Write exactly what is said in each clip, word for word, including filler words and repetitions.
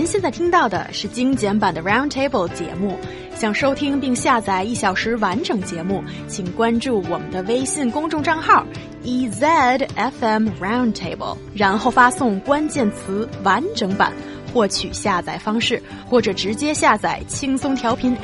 现在听到的是精简版的 Roundtable 节目。想收听并下载一小时完整节目，请关注我们的微信公众账号 E Z F M Roundtable， 然后发送关键词完整版获取下载方式，或者直接下载轻松调频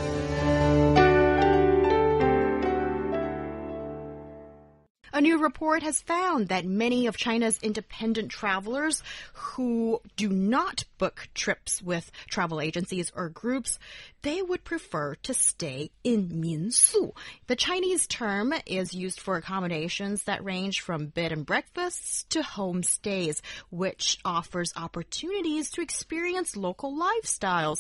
App。A new report has found that many of China's independent travelers who do not book trips with travel agencies or groups, they would prefer to stay in minsu. The Chinese term is used for accommodations that range from bed and breakfasts to homestays, which offers opportunities to experience local lifestyles.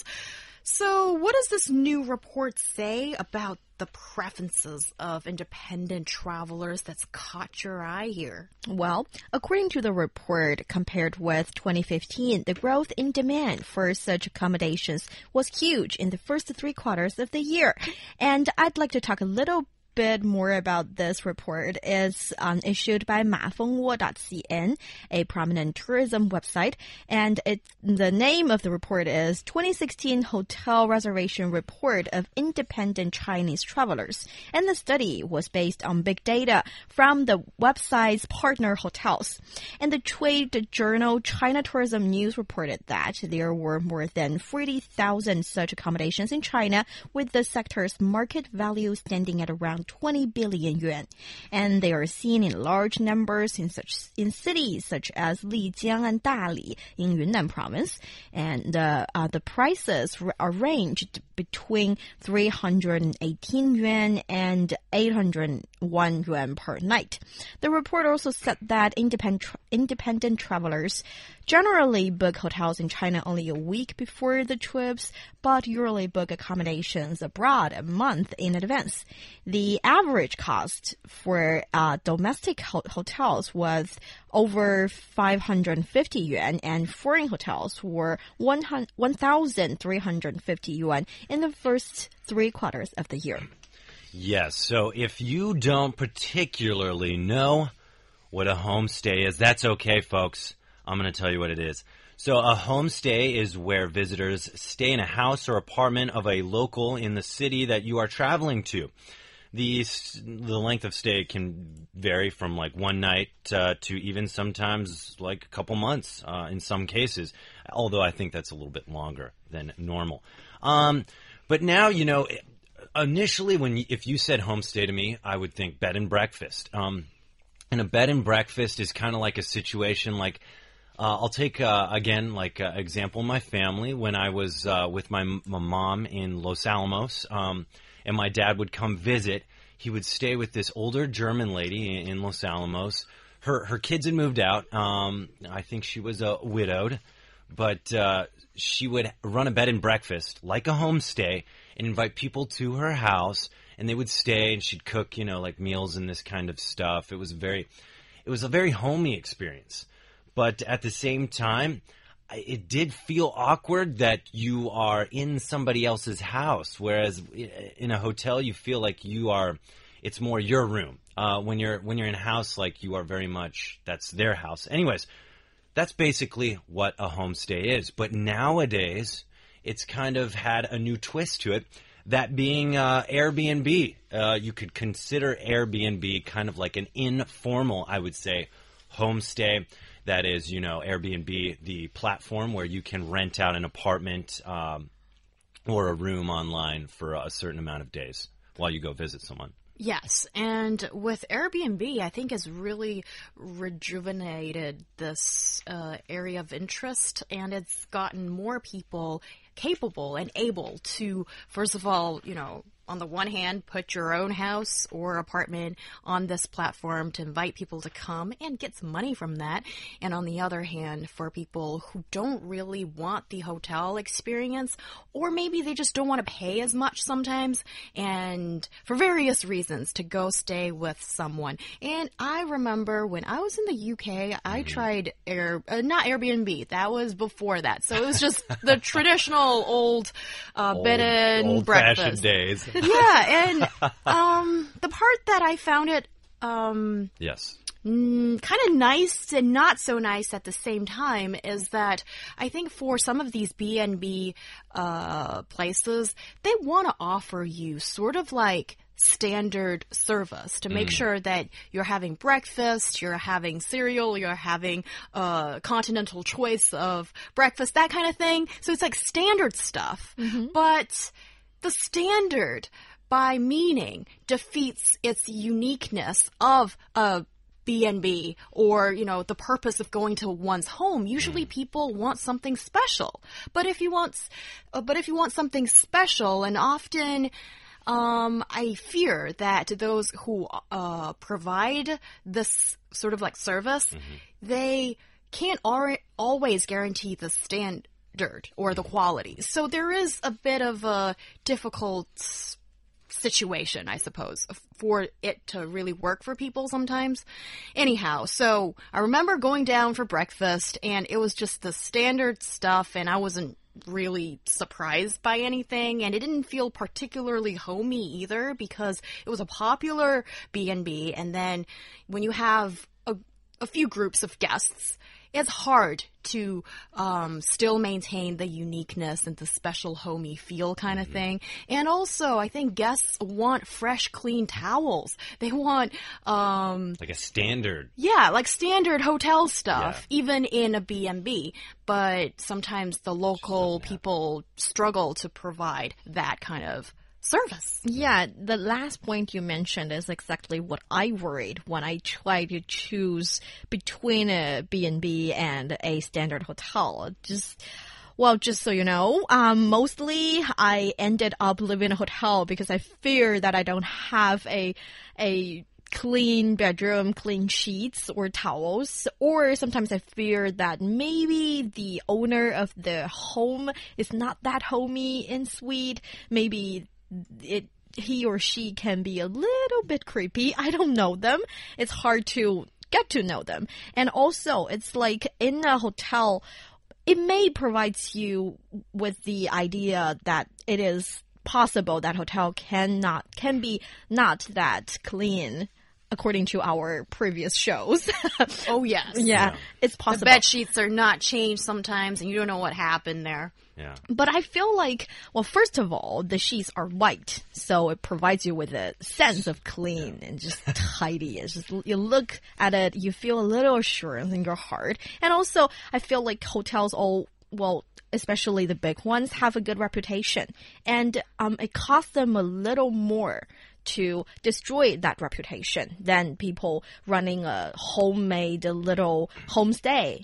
So what does this new report say about the preferences of independent travelers that's caught your eye here? Well, according to the report, compared with twenty fifteen, the growth in demand for such accommodations was huge in the first three quarters of the year. And I'd like to talk a little bit more about this report. Is um, issued by ma feng wo dot c n, a prominent tourism website, and it, the name of the report is twenty sixteen Hotel Reservation Report of Independent Chinese Travelers. And the study was based on big data from the website's partner hotels. And the trade journal China Tourism News reported that there were more than forty thousand such accommodations in China, with the sector's market value standing at around twenty billion yuan. And they are seen in large numbers in such in cities such as Lijiang and Dali in Yunnan province. And uh, uh, the prices are ranged between three hundred eighteen yuan and eight hundred one yuan per night. The report also said that independent, tra independent travelers generally book hotels in China only a week before the trips, but usually book accommodations abroad a month in advance. The average cost for uh, domestic ho hotels was over five hundred fifty yuan, and foreign hotels were one thousand three hundred fifty yuan in the first three quarters of the year. Yes, so if you don't particularly know what a homestay is, that's okay, folks. I'm going to tell you what it is. So a homestay is where visitors stay in a house or apartment of a local in the city that you are traveling to. The, the length of stay can vary from like one night uh, to even sometimes like a couple months uh, in some cases, although I think that's a little bit longer than normal. Um, but now, you know, initially when you, if you said homestay to me, I would think bed and breakfast. Um, and a bed and breakfast is kind of like a situation like, Uh, I'll take, uh, again, like an uh, example, my family. When I was uh, with my, my mom in Los Alamos, um, and my dad would come visit, he would stay with this older German lady in, in Los Alamos. Her her kids had moved out. Um, I think she was uh, widowed, but uh, she would run a bed and breakfast, like a homestay, and invite people to her house, and they would stay, and she'd cook, you know, like meals and this kind of stuff. It was very, it was a very homey experience. But at the same time, it did feel awkward that you are in somebody else's house, whereas in a hotel you feel like you are, it's more your room. Uh, when you're when you're in a house, like you are very much, that's their house. Anyways, that's basically what a homestay is. But nowadays, it's kind of had a new twist to it, that being uh, Airbnb. Uh, you could consider Airbnb kind of like an informal, I would say, homestay. That is, you know, Airbnb, the platform where you can rent out an apartment um, or a room online for a certain amount of days while you go visit someone. Yes, and with Airbnb, I think has really rejuvenated this uh, area of interest, and it's gotten more people capable and able to, first of all, you know, on the one hand, put your own house or apartment on this platform to invite people to come and get some money from that. And on the other hand, for people who don't really want the hotel experience, or maybe they just don't want to pay as much sometimes, and for various reasons, to go stay with someone. And I remember when I was in the U K, I tried Air, uh, not Airbnb, that was before that. So it was just the traditional old uh, old, bed and breakfast days. Yeah, and um, the part that I found it um, Yes. Mm, kind of nice and not so nice at the same time is that I think for some of these B and B uh, places, they want to offer you sort of like standard service to make mm. sure that you're having breakfast, you're having cereal, you're having a uh, continental choice of breakfast, that kind of thing. So it's like standard stuff. Mm-hmm. But the standard, by meaning, defeats its uniqueness of a B and B or, you know, the purpose of going to one's home. Usually people want something special. But if you want, uh, but if you want something special, and often, um, I fear that those who, uh, provide this sort of like service, mm-hmm. they can't al always guarantee the standard or the quality. So there is a bit of a difficult situation, I suppose, for it to really work for people sometimes. Anyhow, so I remember going down for breakfast, and it was just the standard stuff, and I wasn't really surprised by anything, and it didn't feel particularly homey either, because it was a popular B and B, and then when you have a, a few groups of guests, it's hard to um, still maintain the uniqueness and the special homey feel kind of mm-hmm. thing. And also, I think guests want fresh, clean towels. They want... Um, like a standard. Yeah, like standard hotel stuff, yeah. even in a B and B. But sometimes the local people struggle to provide that kind of service. Yeah, the last point you mentioned is exactly what I worried when I tried to choose between a B and B and a standard hotel. Just, well, just so you know, um, mostly I ended up living in a hotel because I fear that I don't have a, a clean bedroom, clean sheets or towels, or sometimes I fear that maybe the owner of the home is not that homey and sweet. Maybe it he or she can be a little bit creepy. I don't know them. It's hard to get to know them. And also, it's like in a hotel, it may provide you with the idea that it is possible that hotel cannot can be not that clean, according to our previous shows. Oh, yes. Yeah, yeah, it's possible. The bed sheets are not changed sometimes, and you don't know what happened there. Yeah. But I feel like, well, first of all, the sheets are white, so it provides you with a sense of clean yeah. and just tidy. It's just, you look at it, you feel a little assurance in your heart. And also, I feel like hotels all, well, especially the big ones, have a good reputation. And um, it costs them a little more to destroy that reputation than people running a homemade little homestay.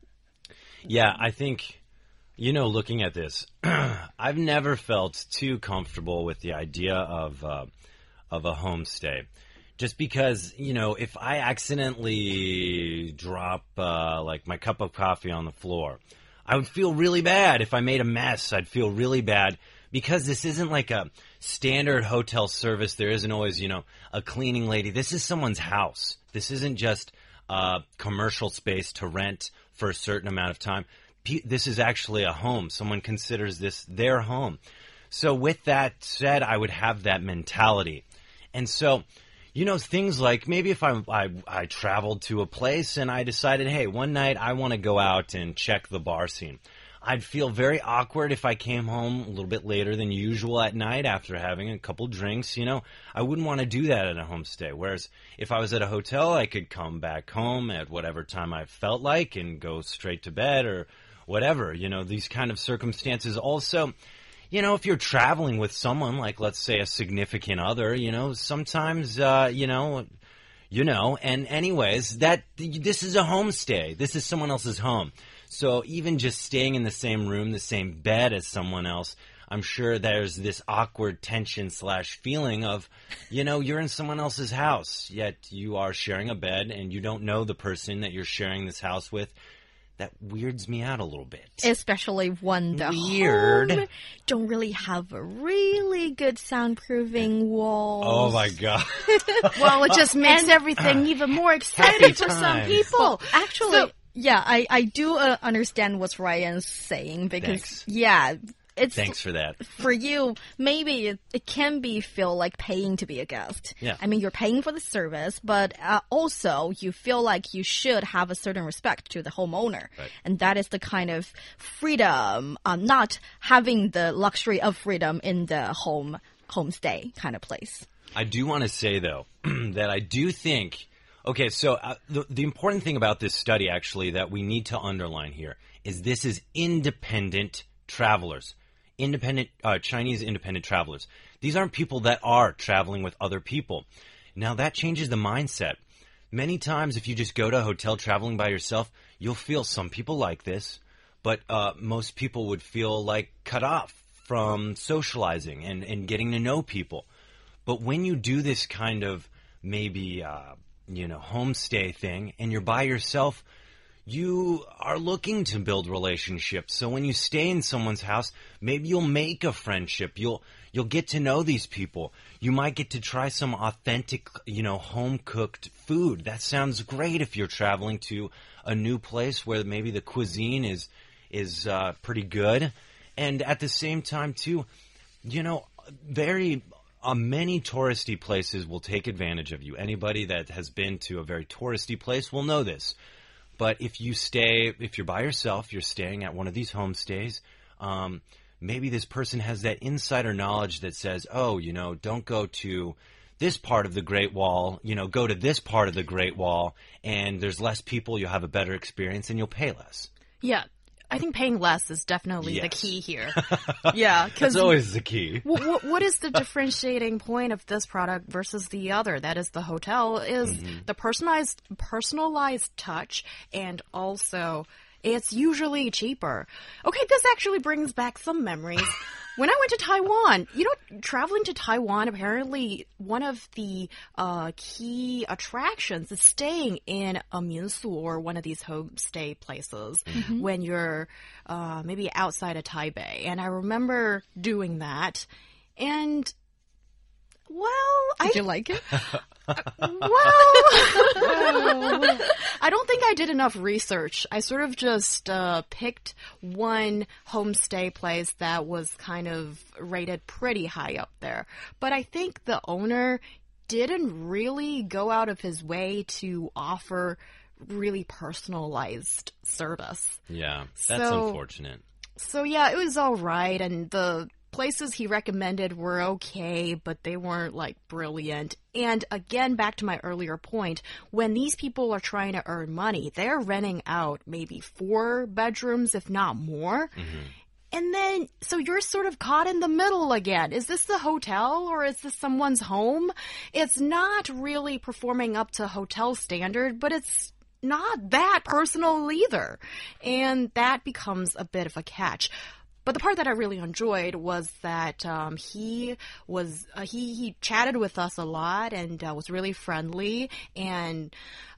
Yeah, I think... You know, looking at this, I've never felt too comfortable with the idea of uh, of a homestay. Just because, you know, if I accidentally drop, uh, like, my cup of coffee on the floor, I would feel really bad. If I made a mess, I'd feel really bad. Because this isn't like a standard hotel service. There isn't always, you know, a cleaning lady. This is someone's house. This isn't just a commercial space to rent for a certain amount of time. This is actually a home. Someone considers this their home. So with that said, I would have that mentality. And so, you know, things like maybe if I, I, I traveled to a place and I decided, hey, one night I want to go out and check the bar scene. I'd feel very awkward if I came home a little bit later than usual at night after having a couple drinks. You know, I wouldn't want to do that at a homestay. Whereas if I was at a hotel, I could come back home at whatever time I felt like and go straight to bed or whatever, you know, these kind of circumstances. Also, you know, if you're traveling with someone, like, let's say, a significant other, you know, sometimes, uh, you know, you know, and anyways, that, this is a homestay. This is someone else's home. So even just staying in the same room, the same bed as someone else, I'm sure there's this awkward tension slash feeling of, you know, you're in someone else's house, yet you are sharing a bed and you don't know the person that you're sharing this house with. That weirds me out a little bit. Especially when the Weird. home don't really have a really good soundproofing wall. Oh, my God. Well, it just makes and, everything uh, even more exciting for some people. Well, actually, so, yeah, I, I do uh, understand what Ryan's saying because, Thanks. yeah, it's Thanks for that. For you, maybe it, it can be feel like paying to be a guest. Yeah. I mean, you're paying for the service, but uh, also you feel like you should have a certain respect to the homeowner. Right. And that is the kind of freedom, um, not having the luxury of freedom in the home homestay kind of place. I do want to say, though, that I do think, okay, so uh, the, the important thing about this study, actually, that we need to underline here is this is independent travelers, independent uh, Chinese independent travelers. These aren't people that are traveling with other people. Now, that changes the mindset. Many times, if you just go to a hotel traveling by yourself, you'll feel some people like this, but uh, most people would feel like cut off from socializing and, and getting to know people. But when you do this kind of maybe, uh, you know, homestay thing and you're by yourself, you are looking to build relationships. So when you stay in someone's house, maybe you'll make a friendship. You'll you'll get to know these people. You might get to try some authentic, you know, home-cooked food. That sounds great if you're traveling to a new place where maybe the cuisine is is uh, pretty good. And at the same time, too, you know, very uh, many touristy places will take advantage of you. Anybody that has been to a very touristy place will know this. But if you stay, if you're by yourself, you're staying at one of these homestays, um, maybe this person has that insider knowledge that says, oh, you know, don't go to this part of the Great Wall, you know, go to this part of the Great Wall, and there's less people, you'll have a better experience, and you'll pay less. Yeah. I think paying less is definitely Yes. the key here. Yeah, That's because always the key. what, what is the differentiating point of this product versus the other? That is the hotel is Mm-hmm. the personalized personalized touch, and also it's usually cheaper. Okay, this actually brings back some memories. When I went to Taiwan, you know, traveling to Taiwan, apparently one of the uh, key attractions is staying in a minsu or one of these homestay places Mm-hmm. when you're uh, maybe outside of Taipei. And I remember doing that. And, well, Did I you like it? well, I don't think I did enough research. I sort of just uh, picked one homestay place that was kind of rated pretty high up there. But I think the owner didn't really go out of his way to offer really personalized service. Yeah, that's So- unfortunate. So yeah, it was all right, and the places he recommended were okay, but they weren't like brilliant. And again, back to my earlier point, when these people are trying to earn money, they're renting out maybe four bedrooms, if not more. And then, so you're sort of caught in the middle again. Is this the hotel or is this someone's home? It's not really performing up to hotel standard, but it's not that personal either. And that becomes a bit of a catch. But the part that I really enjoyed was that um, he was uh, he he chatted with us a lot and uh, was really friendly and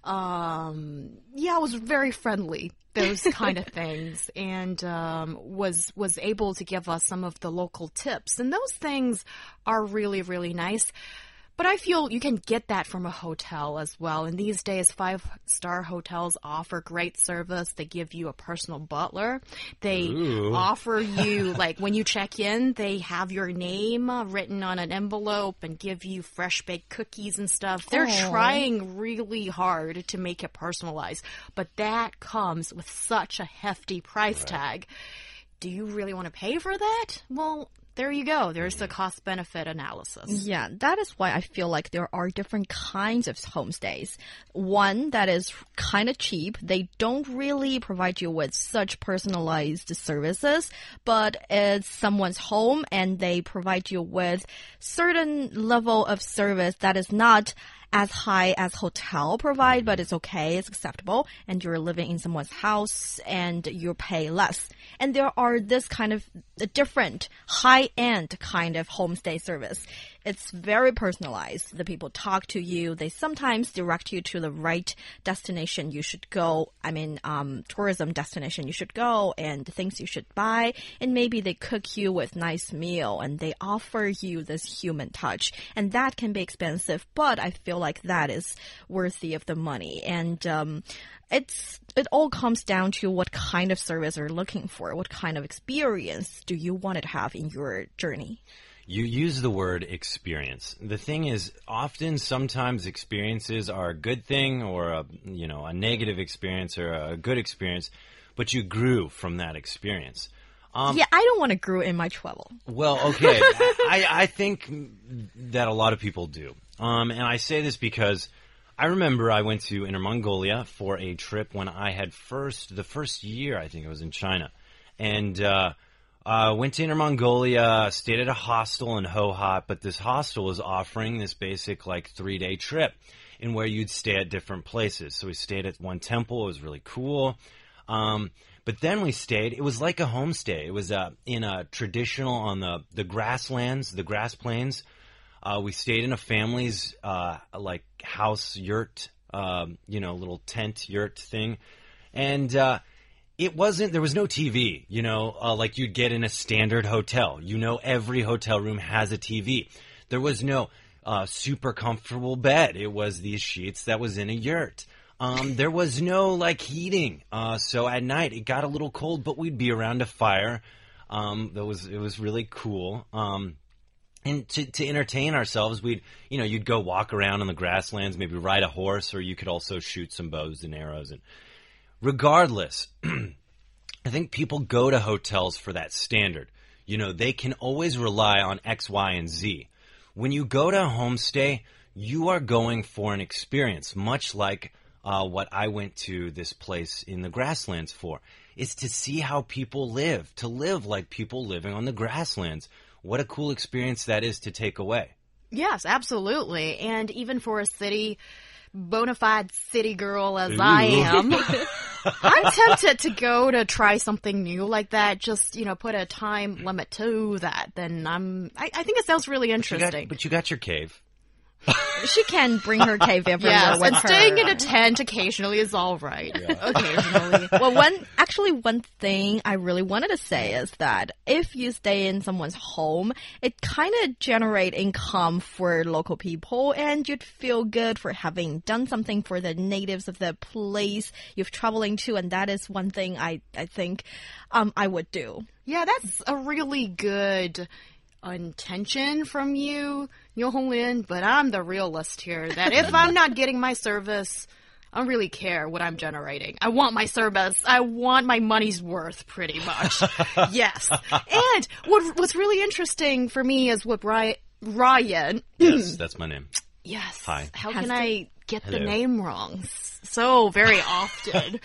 um, yeah, was very friendly. Those kind of things, and um, was was able to give us some of the local tips, and those things are really really nice. But I feel you can get that from a hotel as well. And these days, five-star hotels offer great service. They give you a personal butler. They Ooh. offer you, like, when you check in, they have your name uh, written on an envelope and give you fresh-baked cookies and stuff. They're Aw. trying really hard to make it personalized. But that comes with such a hefty price tag. Do you really want to pay for that? Well, there you go. There's the cost-benefit analysis. Yeah, that is why I feel like there are different kinds of homestays. One that is kind of cheap. They don't really provide you with such personalized services, but it's someone's home and they provide you with certain level of service that is not as high as hotel provide, but it's okay, it's acceptable, and you're living in someone's house and you pay less. And there are this kind of a different high-end kind of homestay service. it's very personalized. The people talk to you. They sometimes direct you to the right destination you should go. I mean, um, tourism destination you should go and the things you should buy. And maybe they cook you with nice meal and they offer you this human touch. And that can be expensive, but I feel like that is worthy of the money. And um, it's it all comes down to what kind of service you're looking for. What kind of experience do you want to have in your journey? You use the word experience. The thing is, often, sometimes experiences are a good thing or a, you know, a negative experience or a good experience, but you grew from that experience. Um, yeah, I don't want to grow in my travel. Well, okay. I, I think that a lot of people do. Um, and I say this because I remember I went to Inner Mongolia for a trip when I had first, the first year, I think it was in China. And, uh, Uh, went to Inner Mongolia, stayed at a hostel in Hohhot, but this hostel was offering this basic like three-day trip in where you'd stay at different places. So we stayed at one temple. It was really cool. Um, but then we stayed, it was like a homestay. It was uh, in a traditional, on the, the grasslands, the grass plains. Uh, we stayed in a family's uh, like house yurt, uh, you know, little tent yurt thing. And uh It wasn't, there was no T V, you know, uh, like you'd get in a standard hotel. You know, every hotel room has a T V. There was no uh, super comfortable bed. It was these sheets that was in a yurt. Um, there was no, like, heating. Uh, so at night, it got a little cold, but we'd be around a fire. Um, that was, it was really cool. Um, and to, to entertain ourselves, we'd, you know, you'd go walk around on the grasslands, maybe ride a horse, or you could also shoot some bows and arrows. And regardless, I think people go to hotels for that standard. You know, they can always rely on X, Y, and Z. When you go to a homestay, you are going for an experience, much like uh, what I went to this place in the grasslands for, is to see how people live, to live like people living on the grasslands. What a cool experience that is to take away. Yes, absolutely. And even for a city, bona fide city girl as Ooh. I am, I'm tempted to go to try something new like that. Just, you know, put a time limit to that. Then I'm, I, I think it sounds really interesting. But you got, but you got your cave. She can bring her cave everywhere yes, with and her. staying in a tent occasionally is all right. Yeah. Occasionally. Well, one actually one thing I really wanted to say is that if you stay in someone's home, it kind of generate income for local people, and you'd feel good for having done something for the natives of the place you've traveling to, and that is one thing I I think um I would do. Yeah, that's a really good intention from you, Yo Honglin, but I'm the realist here, that if I'm not getting my service, I don't really care what I'm generating. I want my service. I want my money's worth, pretty much. Yes. And what what's really interesting for me is what Ryan... Ryan Yes, that's my name. Yes. Hi. How Has can to- I get Hello. the name wrong so very often?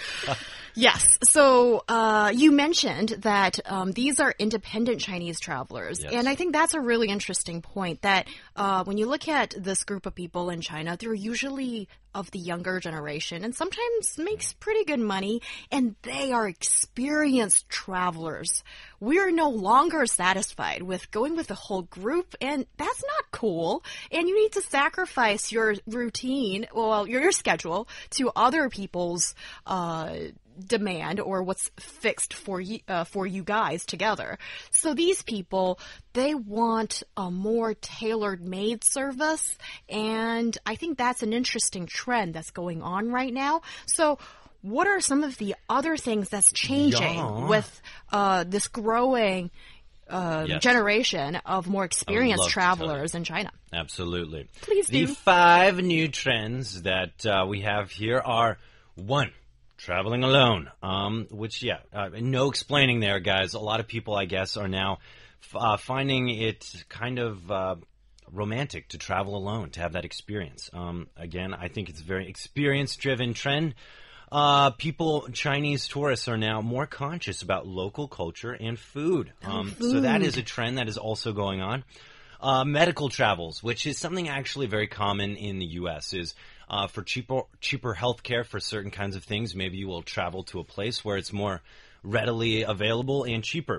Yes. So uh, you mentioned that um, these are independent Chinese travelers. Yes. And I think that's a really interesting point, that uh, when you look at this group of people in China, they're usually of the younger generation and sometimes makes pretty good money, and they are experienced travelers. We're no longer satisfied with going with the whole group, and that's not cool. And you need to sacrifice your routine, well, your, your schedule, to other people's uh demand or what's fixed for you, uh, for you guys together. So these people, they want a more tailor-made service, and I think that's an interesting trend that's going on right now. So what are some of the other things that's changing Yeah. with uh, this growing uh, Yes. generation of more love experienced to tell travelers in China? Absolutely. Please The do. five new trends that uh, we have here are, one, traveling alone, um, which, yeah, uh, no explaining there, guys. A lot of people, I guess, are now f uh, finding it kind of uh, romantic to travel alone, to have that experience. Um, again, I think it's a very experience-driven trend. Uh, people, Chinese tourists are now more conscious about local culture and food. Um, So that is a trend that is also going on. Uh, medical travels, which is something actually very common in the U S, is uh, for cheaper cheaper health care for certain kinds of things. Maybe you will travel to a place where it's more readily available and cheaper.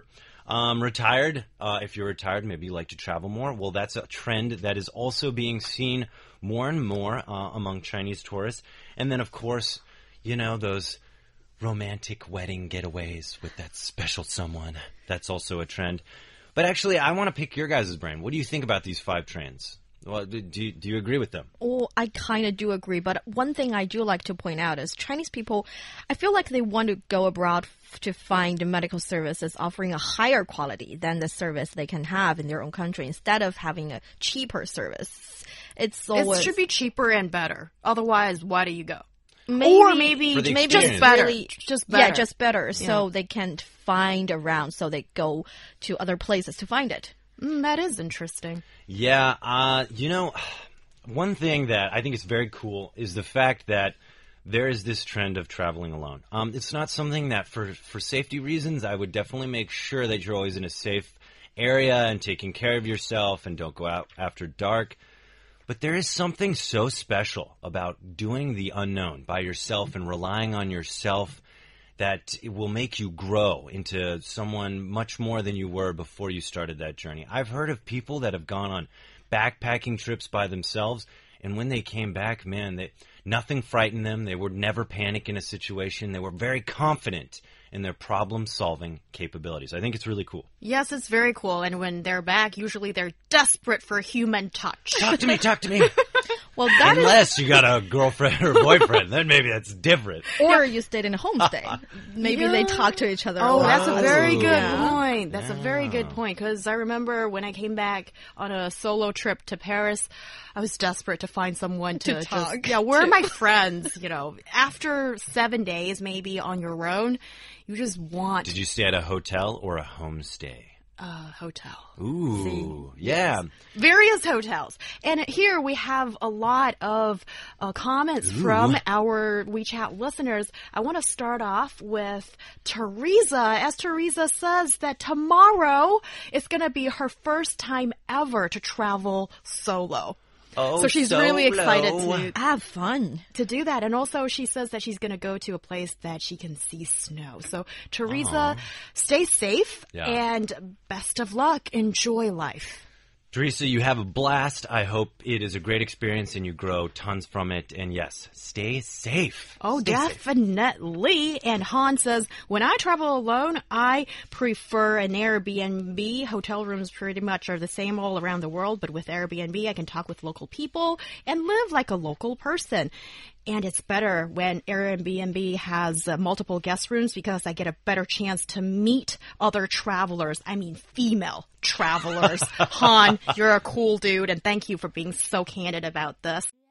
Um, retired, uh, if you're retired, maybe you like to travel more. Well, that's a trend that is also being seen more and more uh, among Chinese tourists. And then, of course, you know, those romantic wedding getaways with that special someone. That's also a trend. But actually, I want to pick your guys' brain. What do you think about these five trends? Well, do you, do you agree with them? Oh, I kind of do agree. But one thing I do like to point out is Chinese people, I feel like they want to go abroad to find medical services offering a higher quality than the service they can have in their own country instead of having a cheaper service. It's always... It should be cheaper and better. Otherwise, why do you go? Maybe, or maybe maybe just better. Really, just better. Yeah, just better. Yeah. So they can't find around, so they go to other places to find it. Mm, that is interesting. Yeah, uh, you know, one thing that I think is very cool is the fact that there is this trend of traveling alone. Um, it's not something that, for, for safety reasons, I would definitely make sure that you're always in a safe area and taking care of yourself and don't go out after dark. But there is something so special about doing the unknown by yourself and relying on yourself that it will make you grow into someone much more than you were before you started that journey. I've heard of people that have gone on backpacking trips by themselves, and when they came back, man, they, nothing frightened them. They would never panic in a situation. They were very confident in their problem-solving capabilities. I think it's really cool. Yes, it's very cool. And when they're back, usually they're desperate for human touch. Talk to me, talk to me. Well, that Unless is... you got a girlfriend or boyfriend, then maybe that's different. Or you stayed in a homestay. Maybe Yeah. they talk to each other. Oh, a lot. that's a very Oh. good Yeah. point. That's Yeah. a very good point. Because I remember when I came back on a solo trip to Paris, I was desperate to find someone to, To just, talk yeah, where are to. my friends? You know, after seven days maybe on your own, you just want Did you stay at a hotel or a homestay? a hotel. Ooh, yeah. Various hotels. And here we have a lot of uh, comments from our WeChat listeners. I want to start off with Teresa, as Teresa says that tomorrow is going to be her first time ever to travel solo. Oh, So she's really solo. excited to Have fun. to do that. And also she says that she's going to go to a place that she can see snow. So Teresa, stay safe Yeah. and best of luck. Enjoy life. Teresa, you have a blast. I hope it is a great experience and you grow tons from it. And yes, stay safe. Oh, Stay safe. definitely. And Han says, when I travel alone, I prefer an Airbnb. Hotel rooms pretty much are the same all around the world, but with Airbnb, I can talk with local people and live like a local person. And it's better when Airbnb has uh, multiple guest rooms because I get a better chance to meet other travelers. I mean, female travelers. Han, you're a cool dude, and thank you for being so candid about this.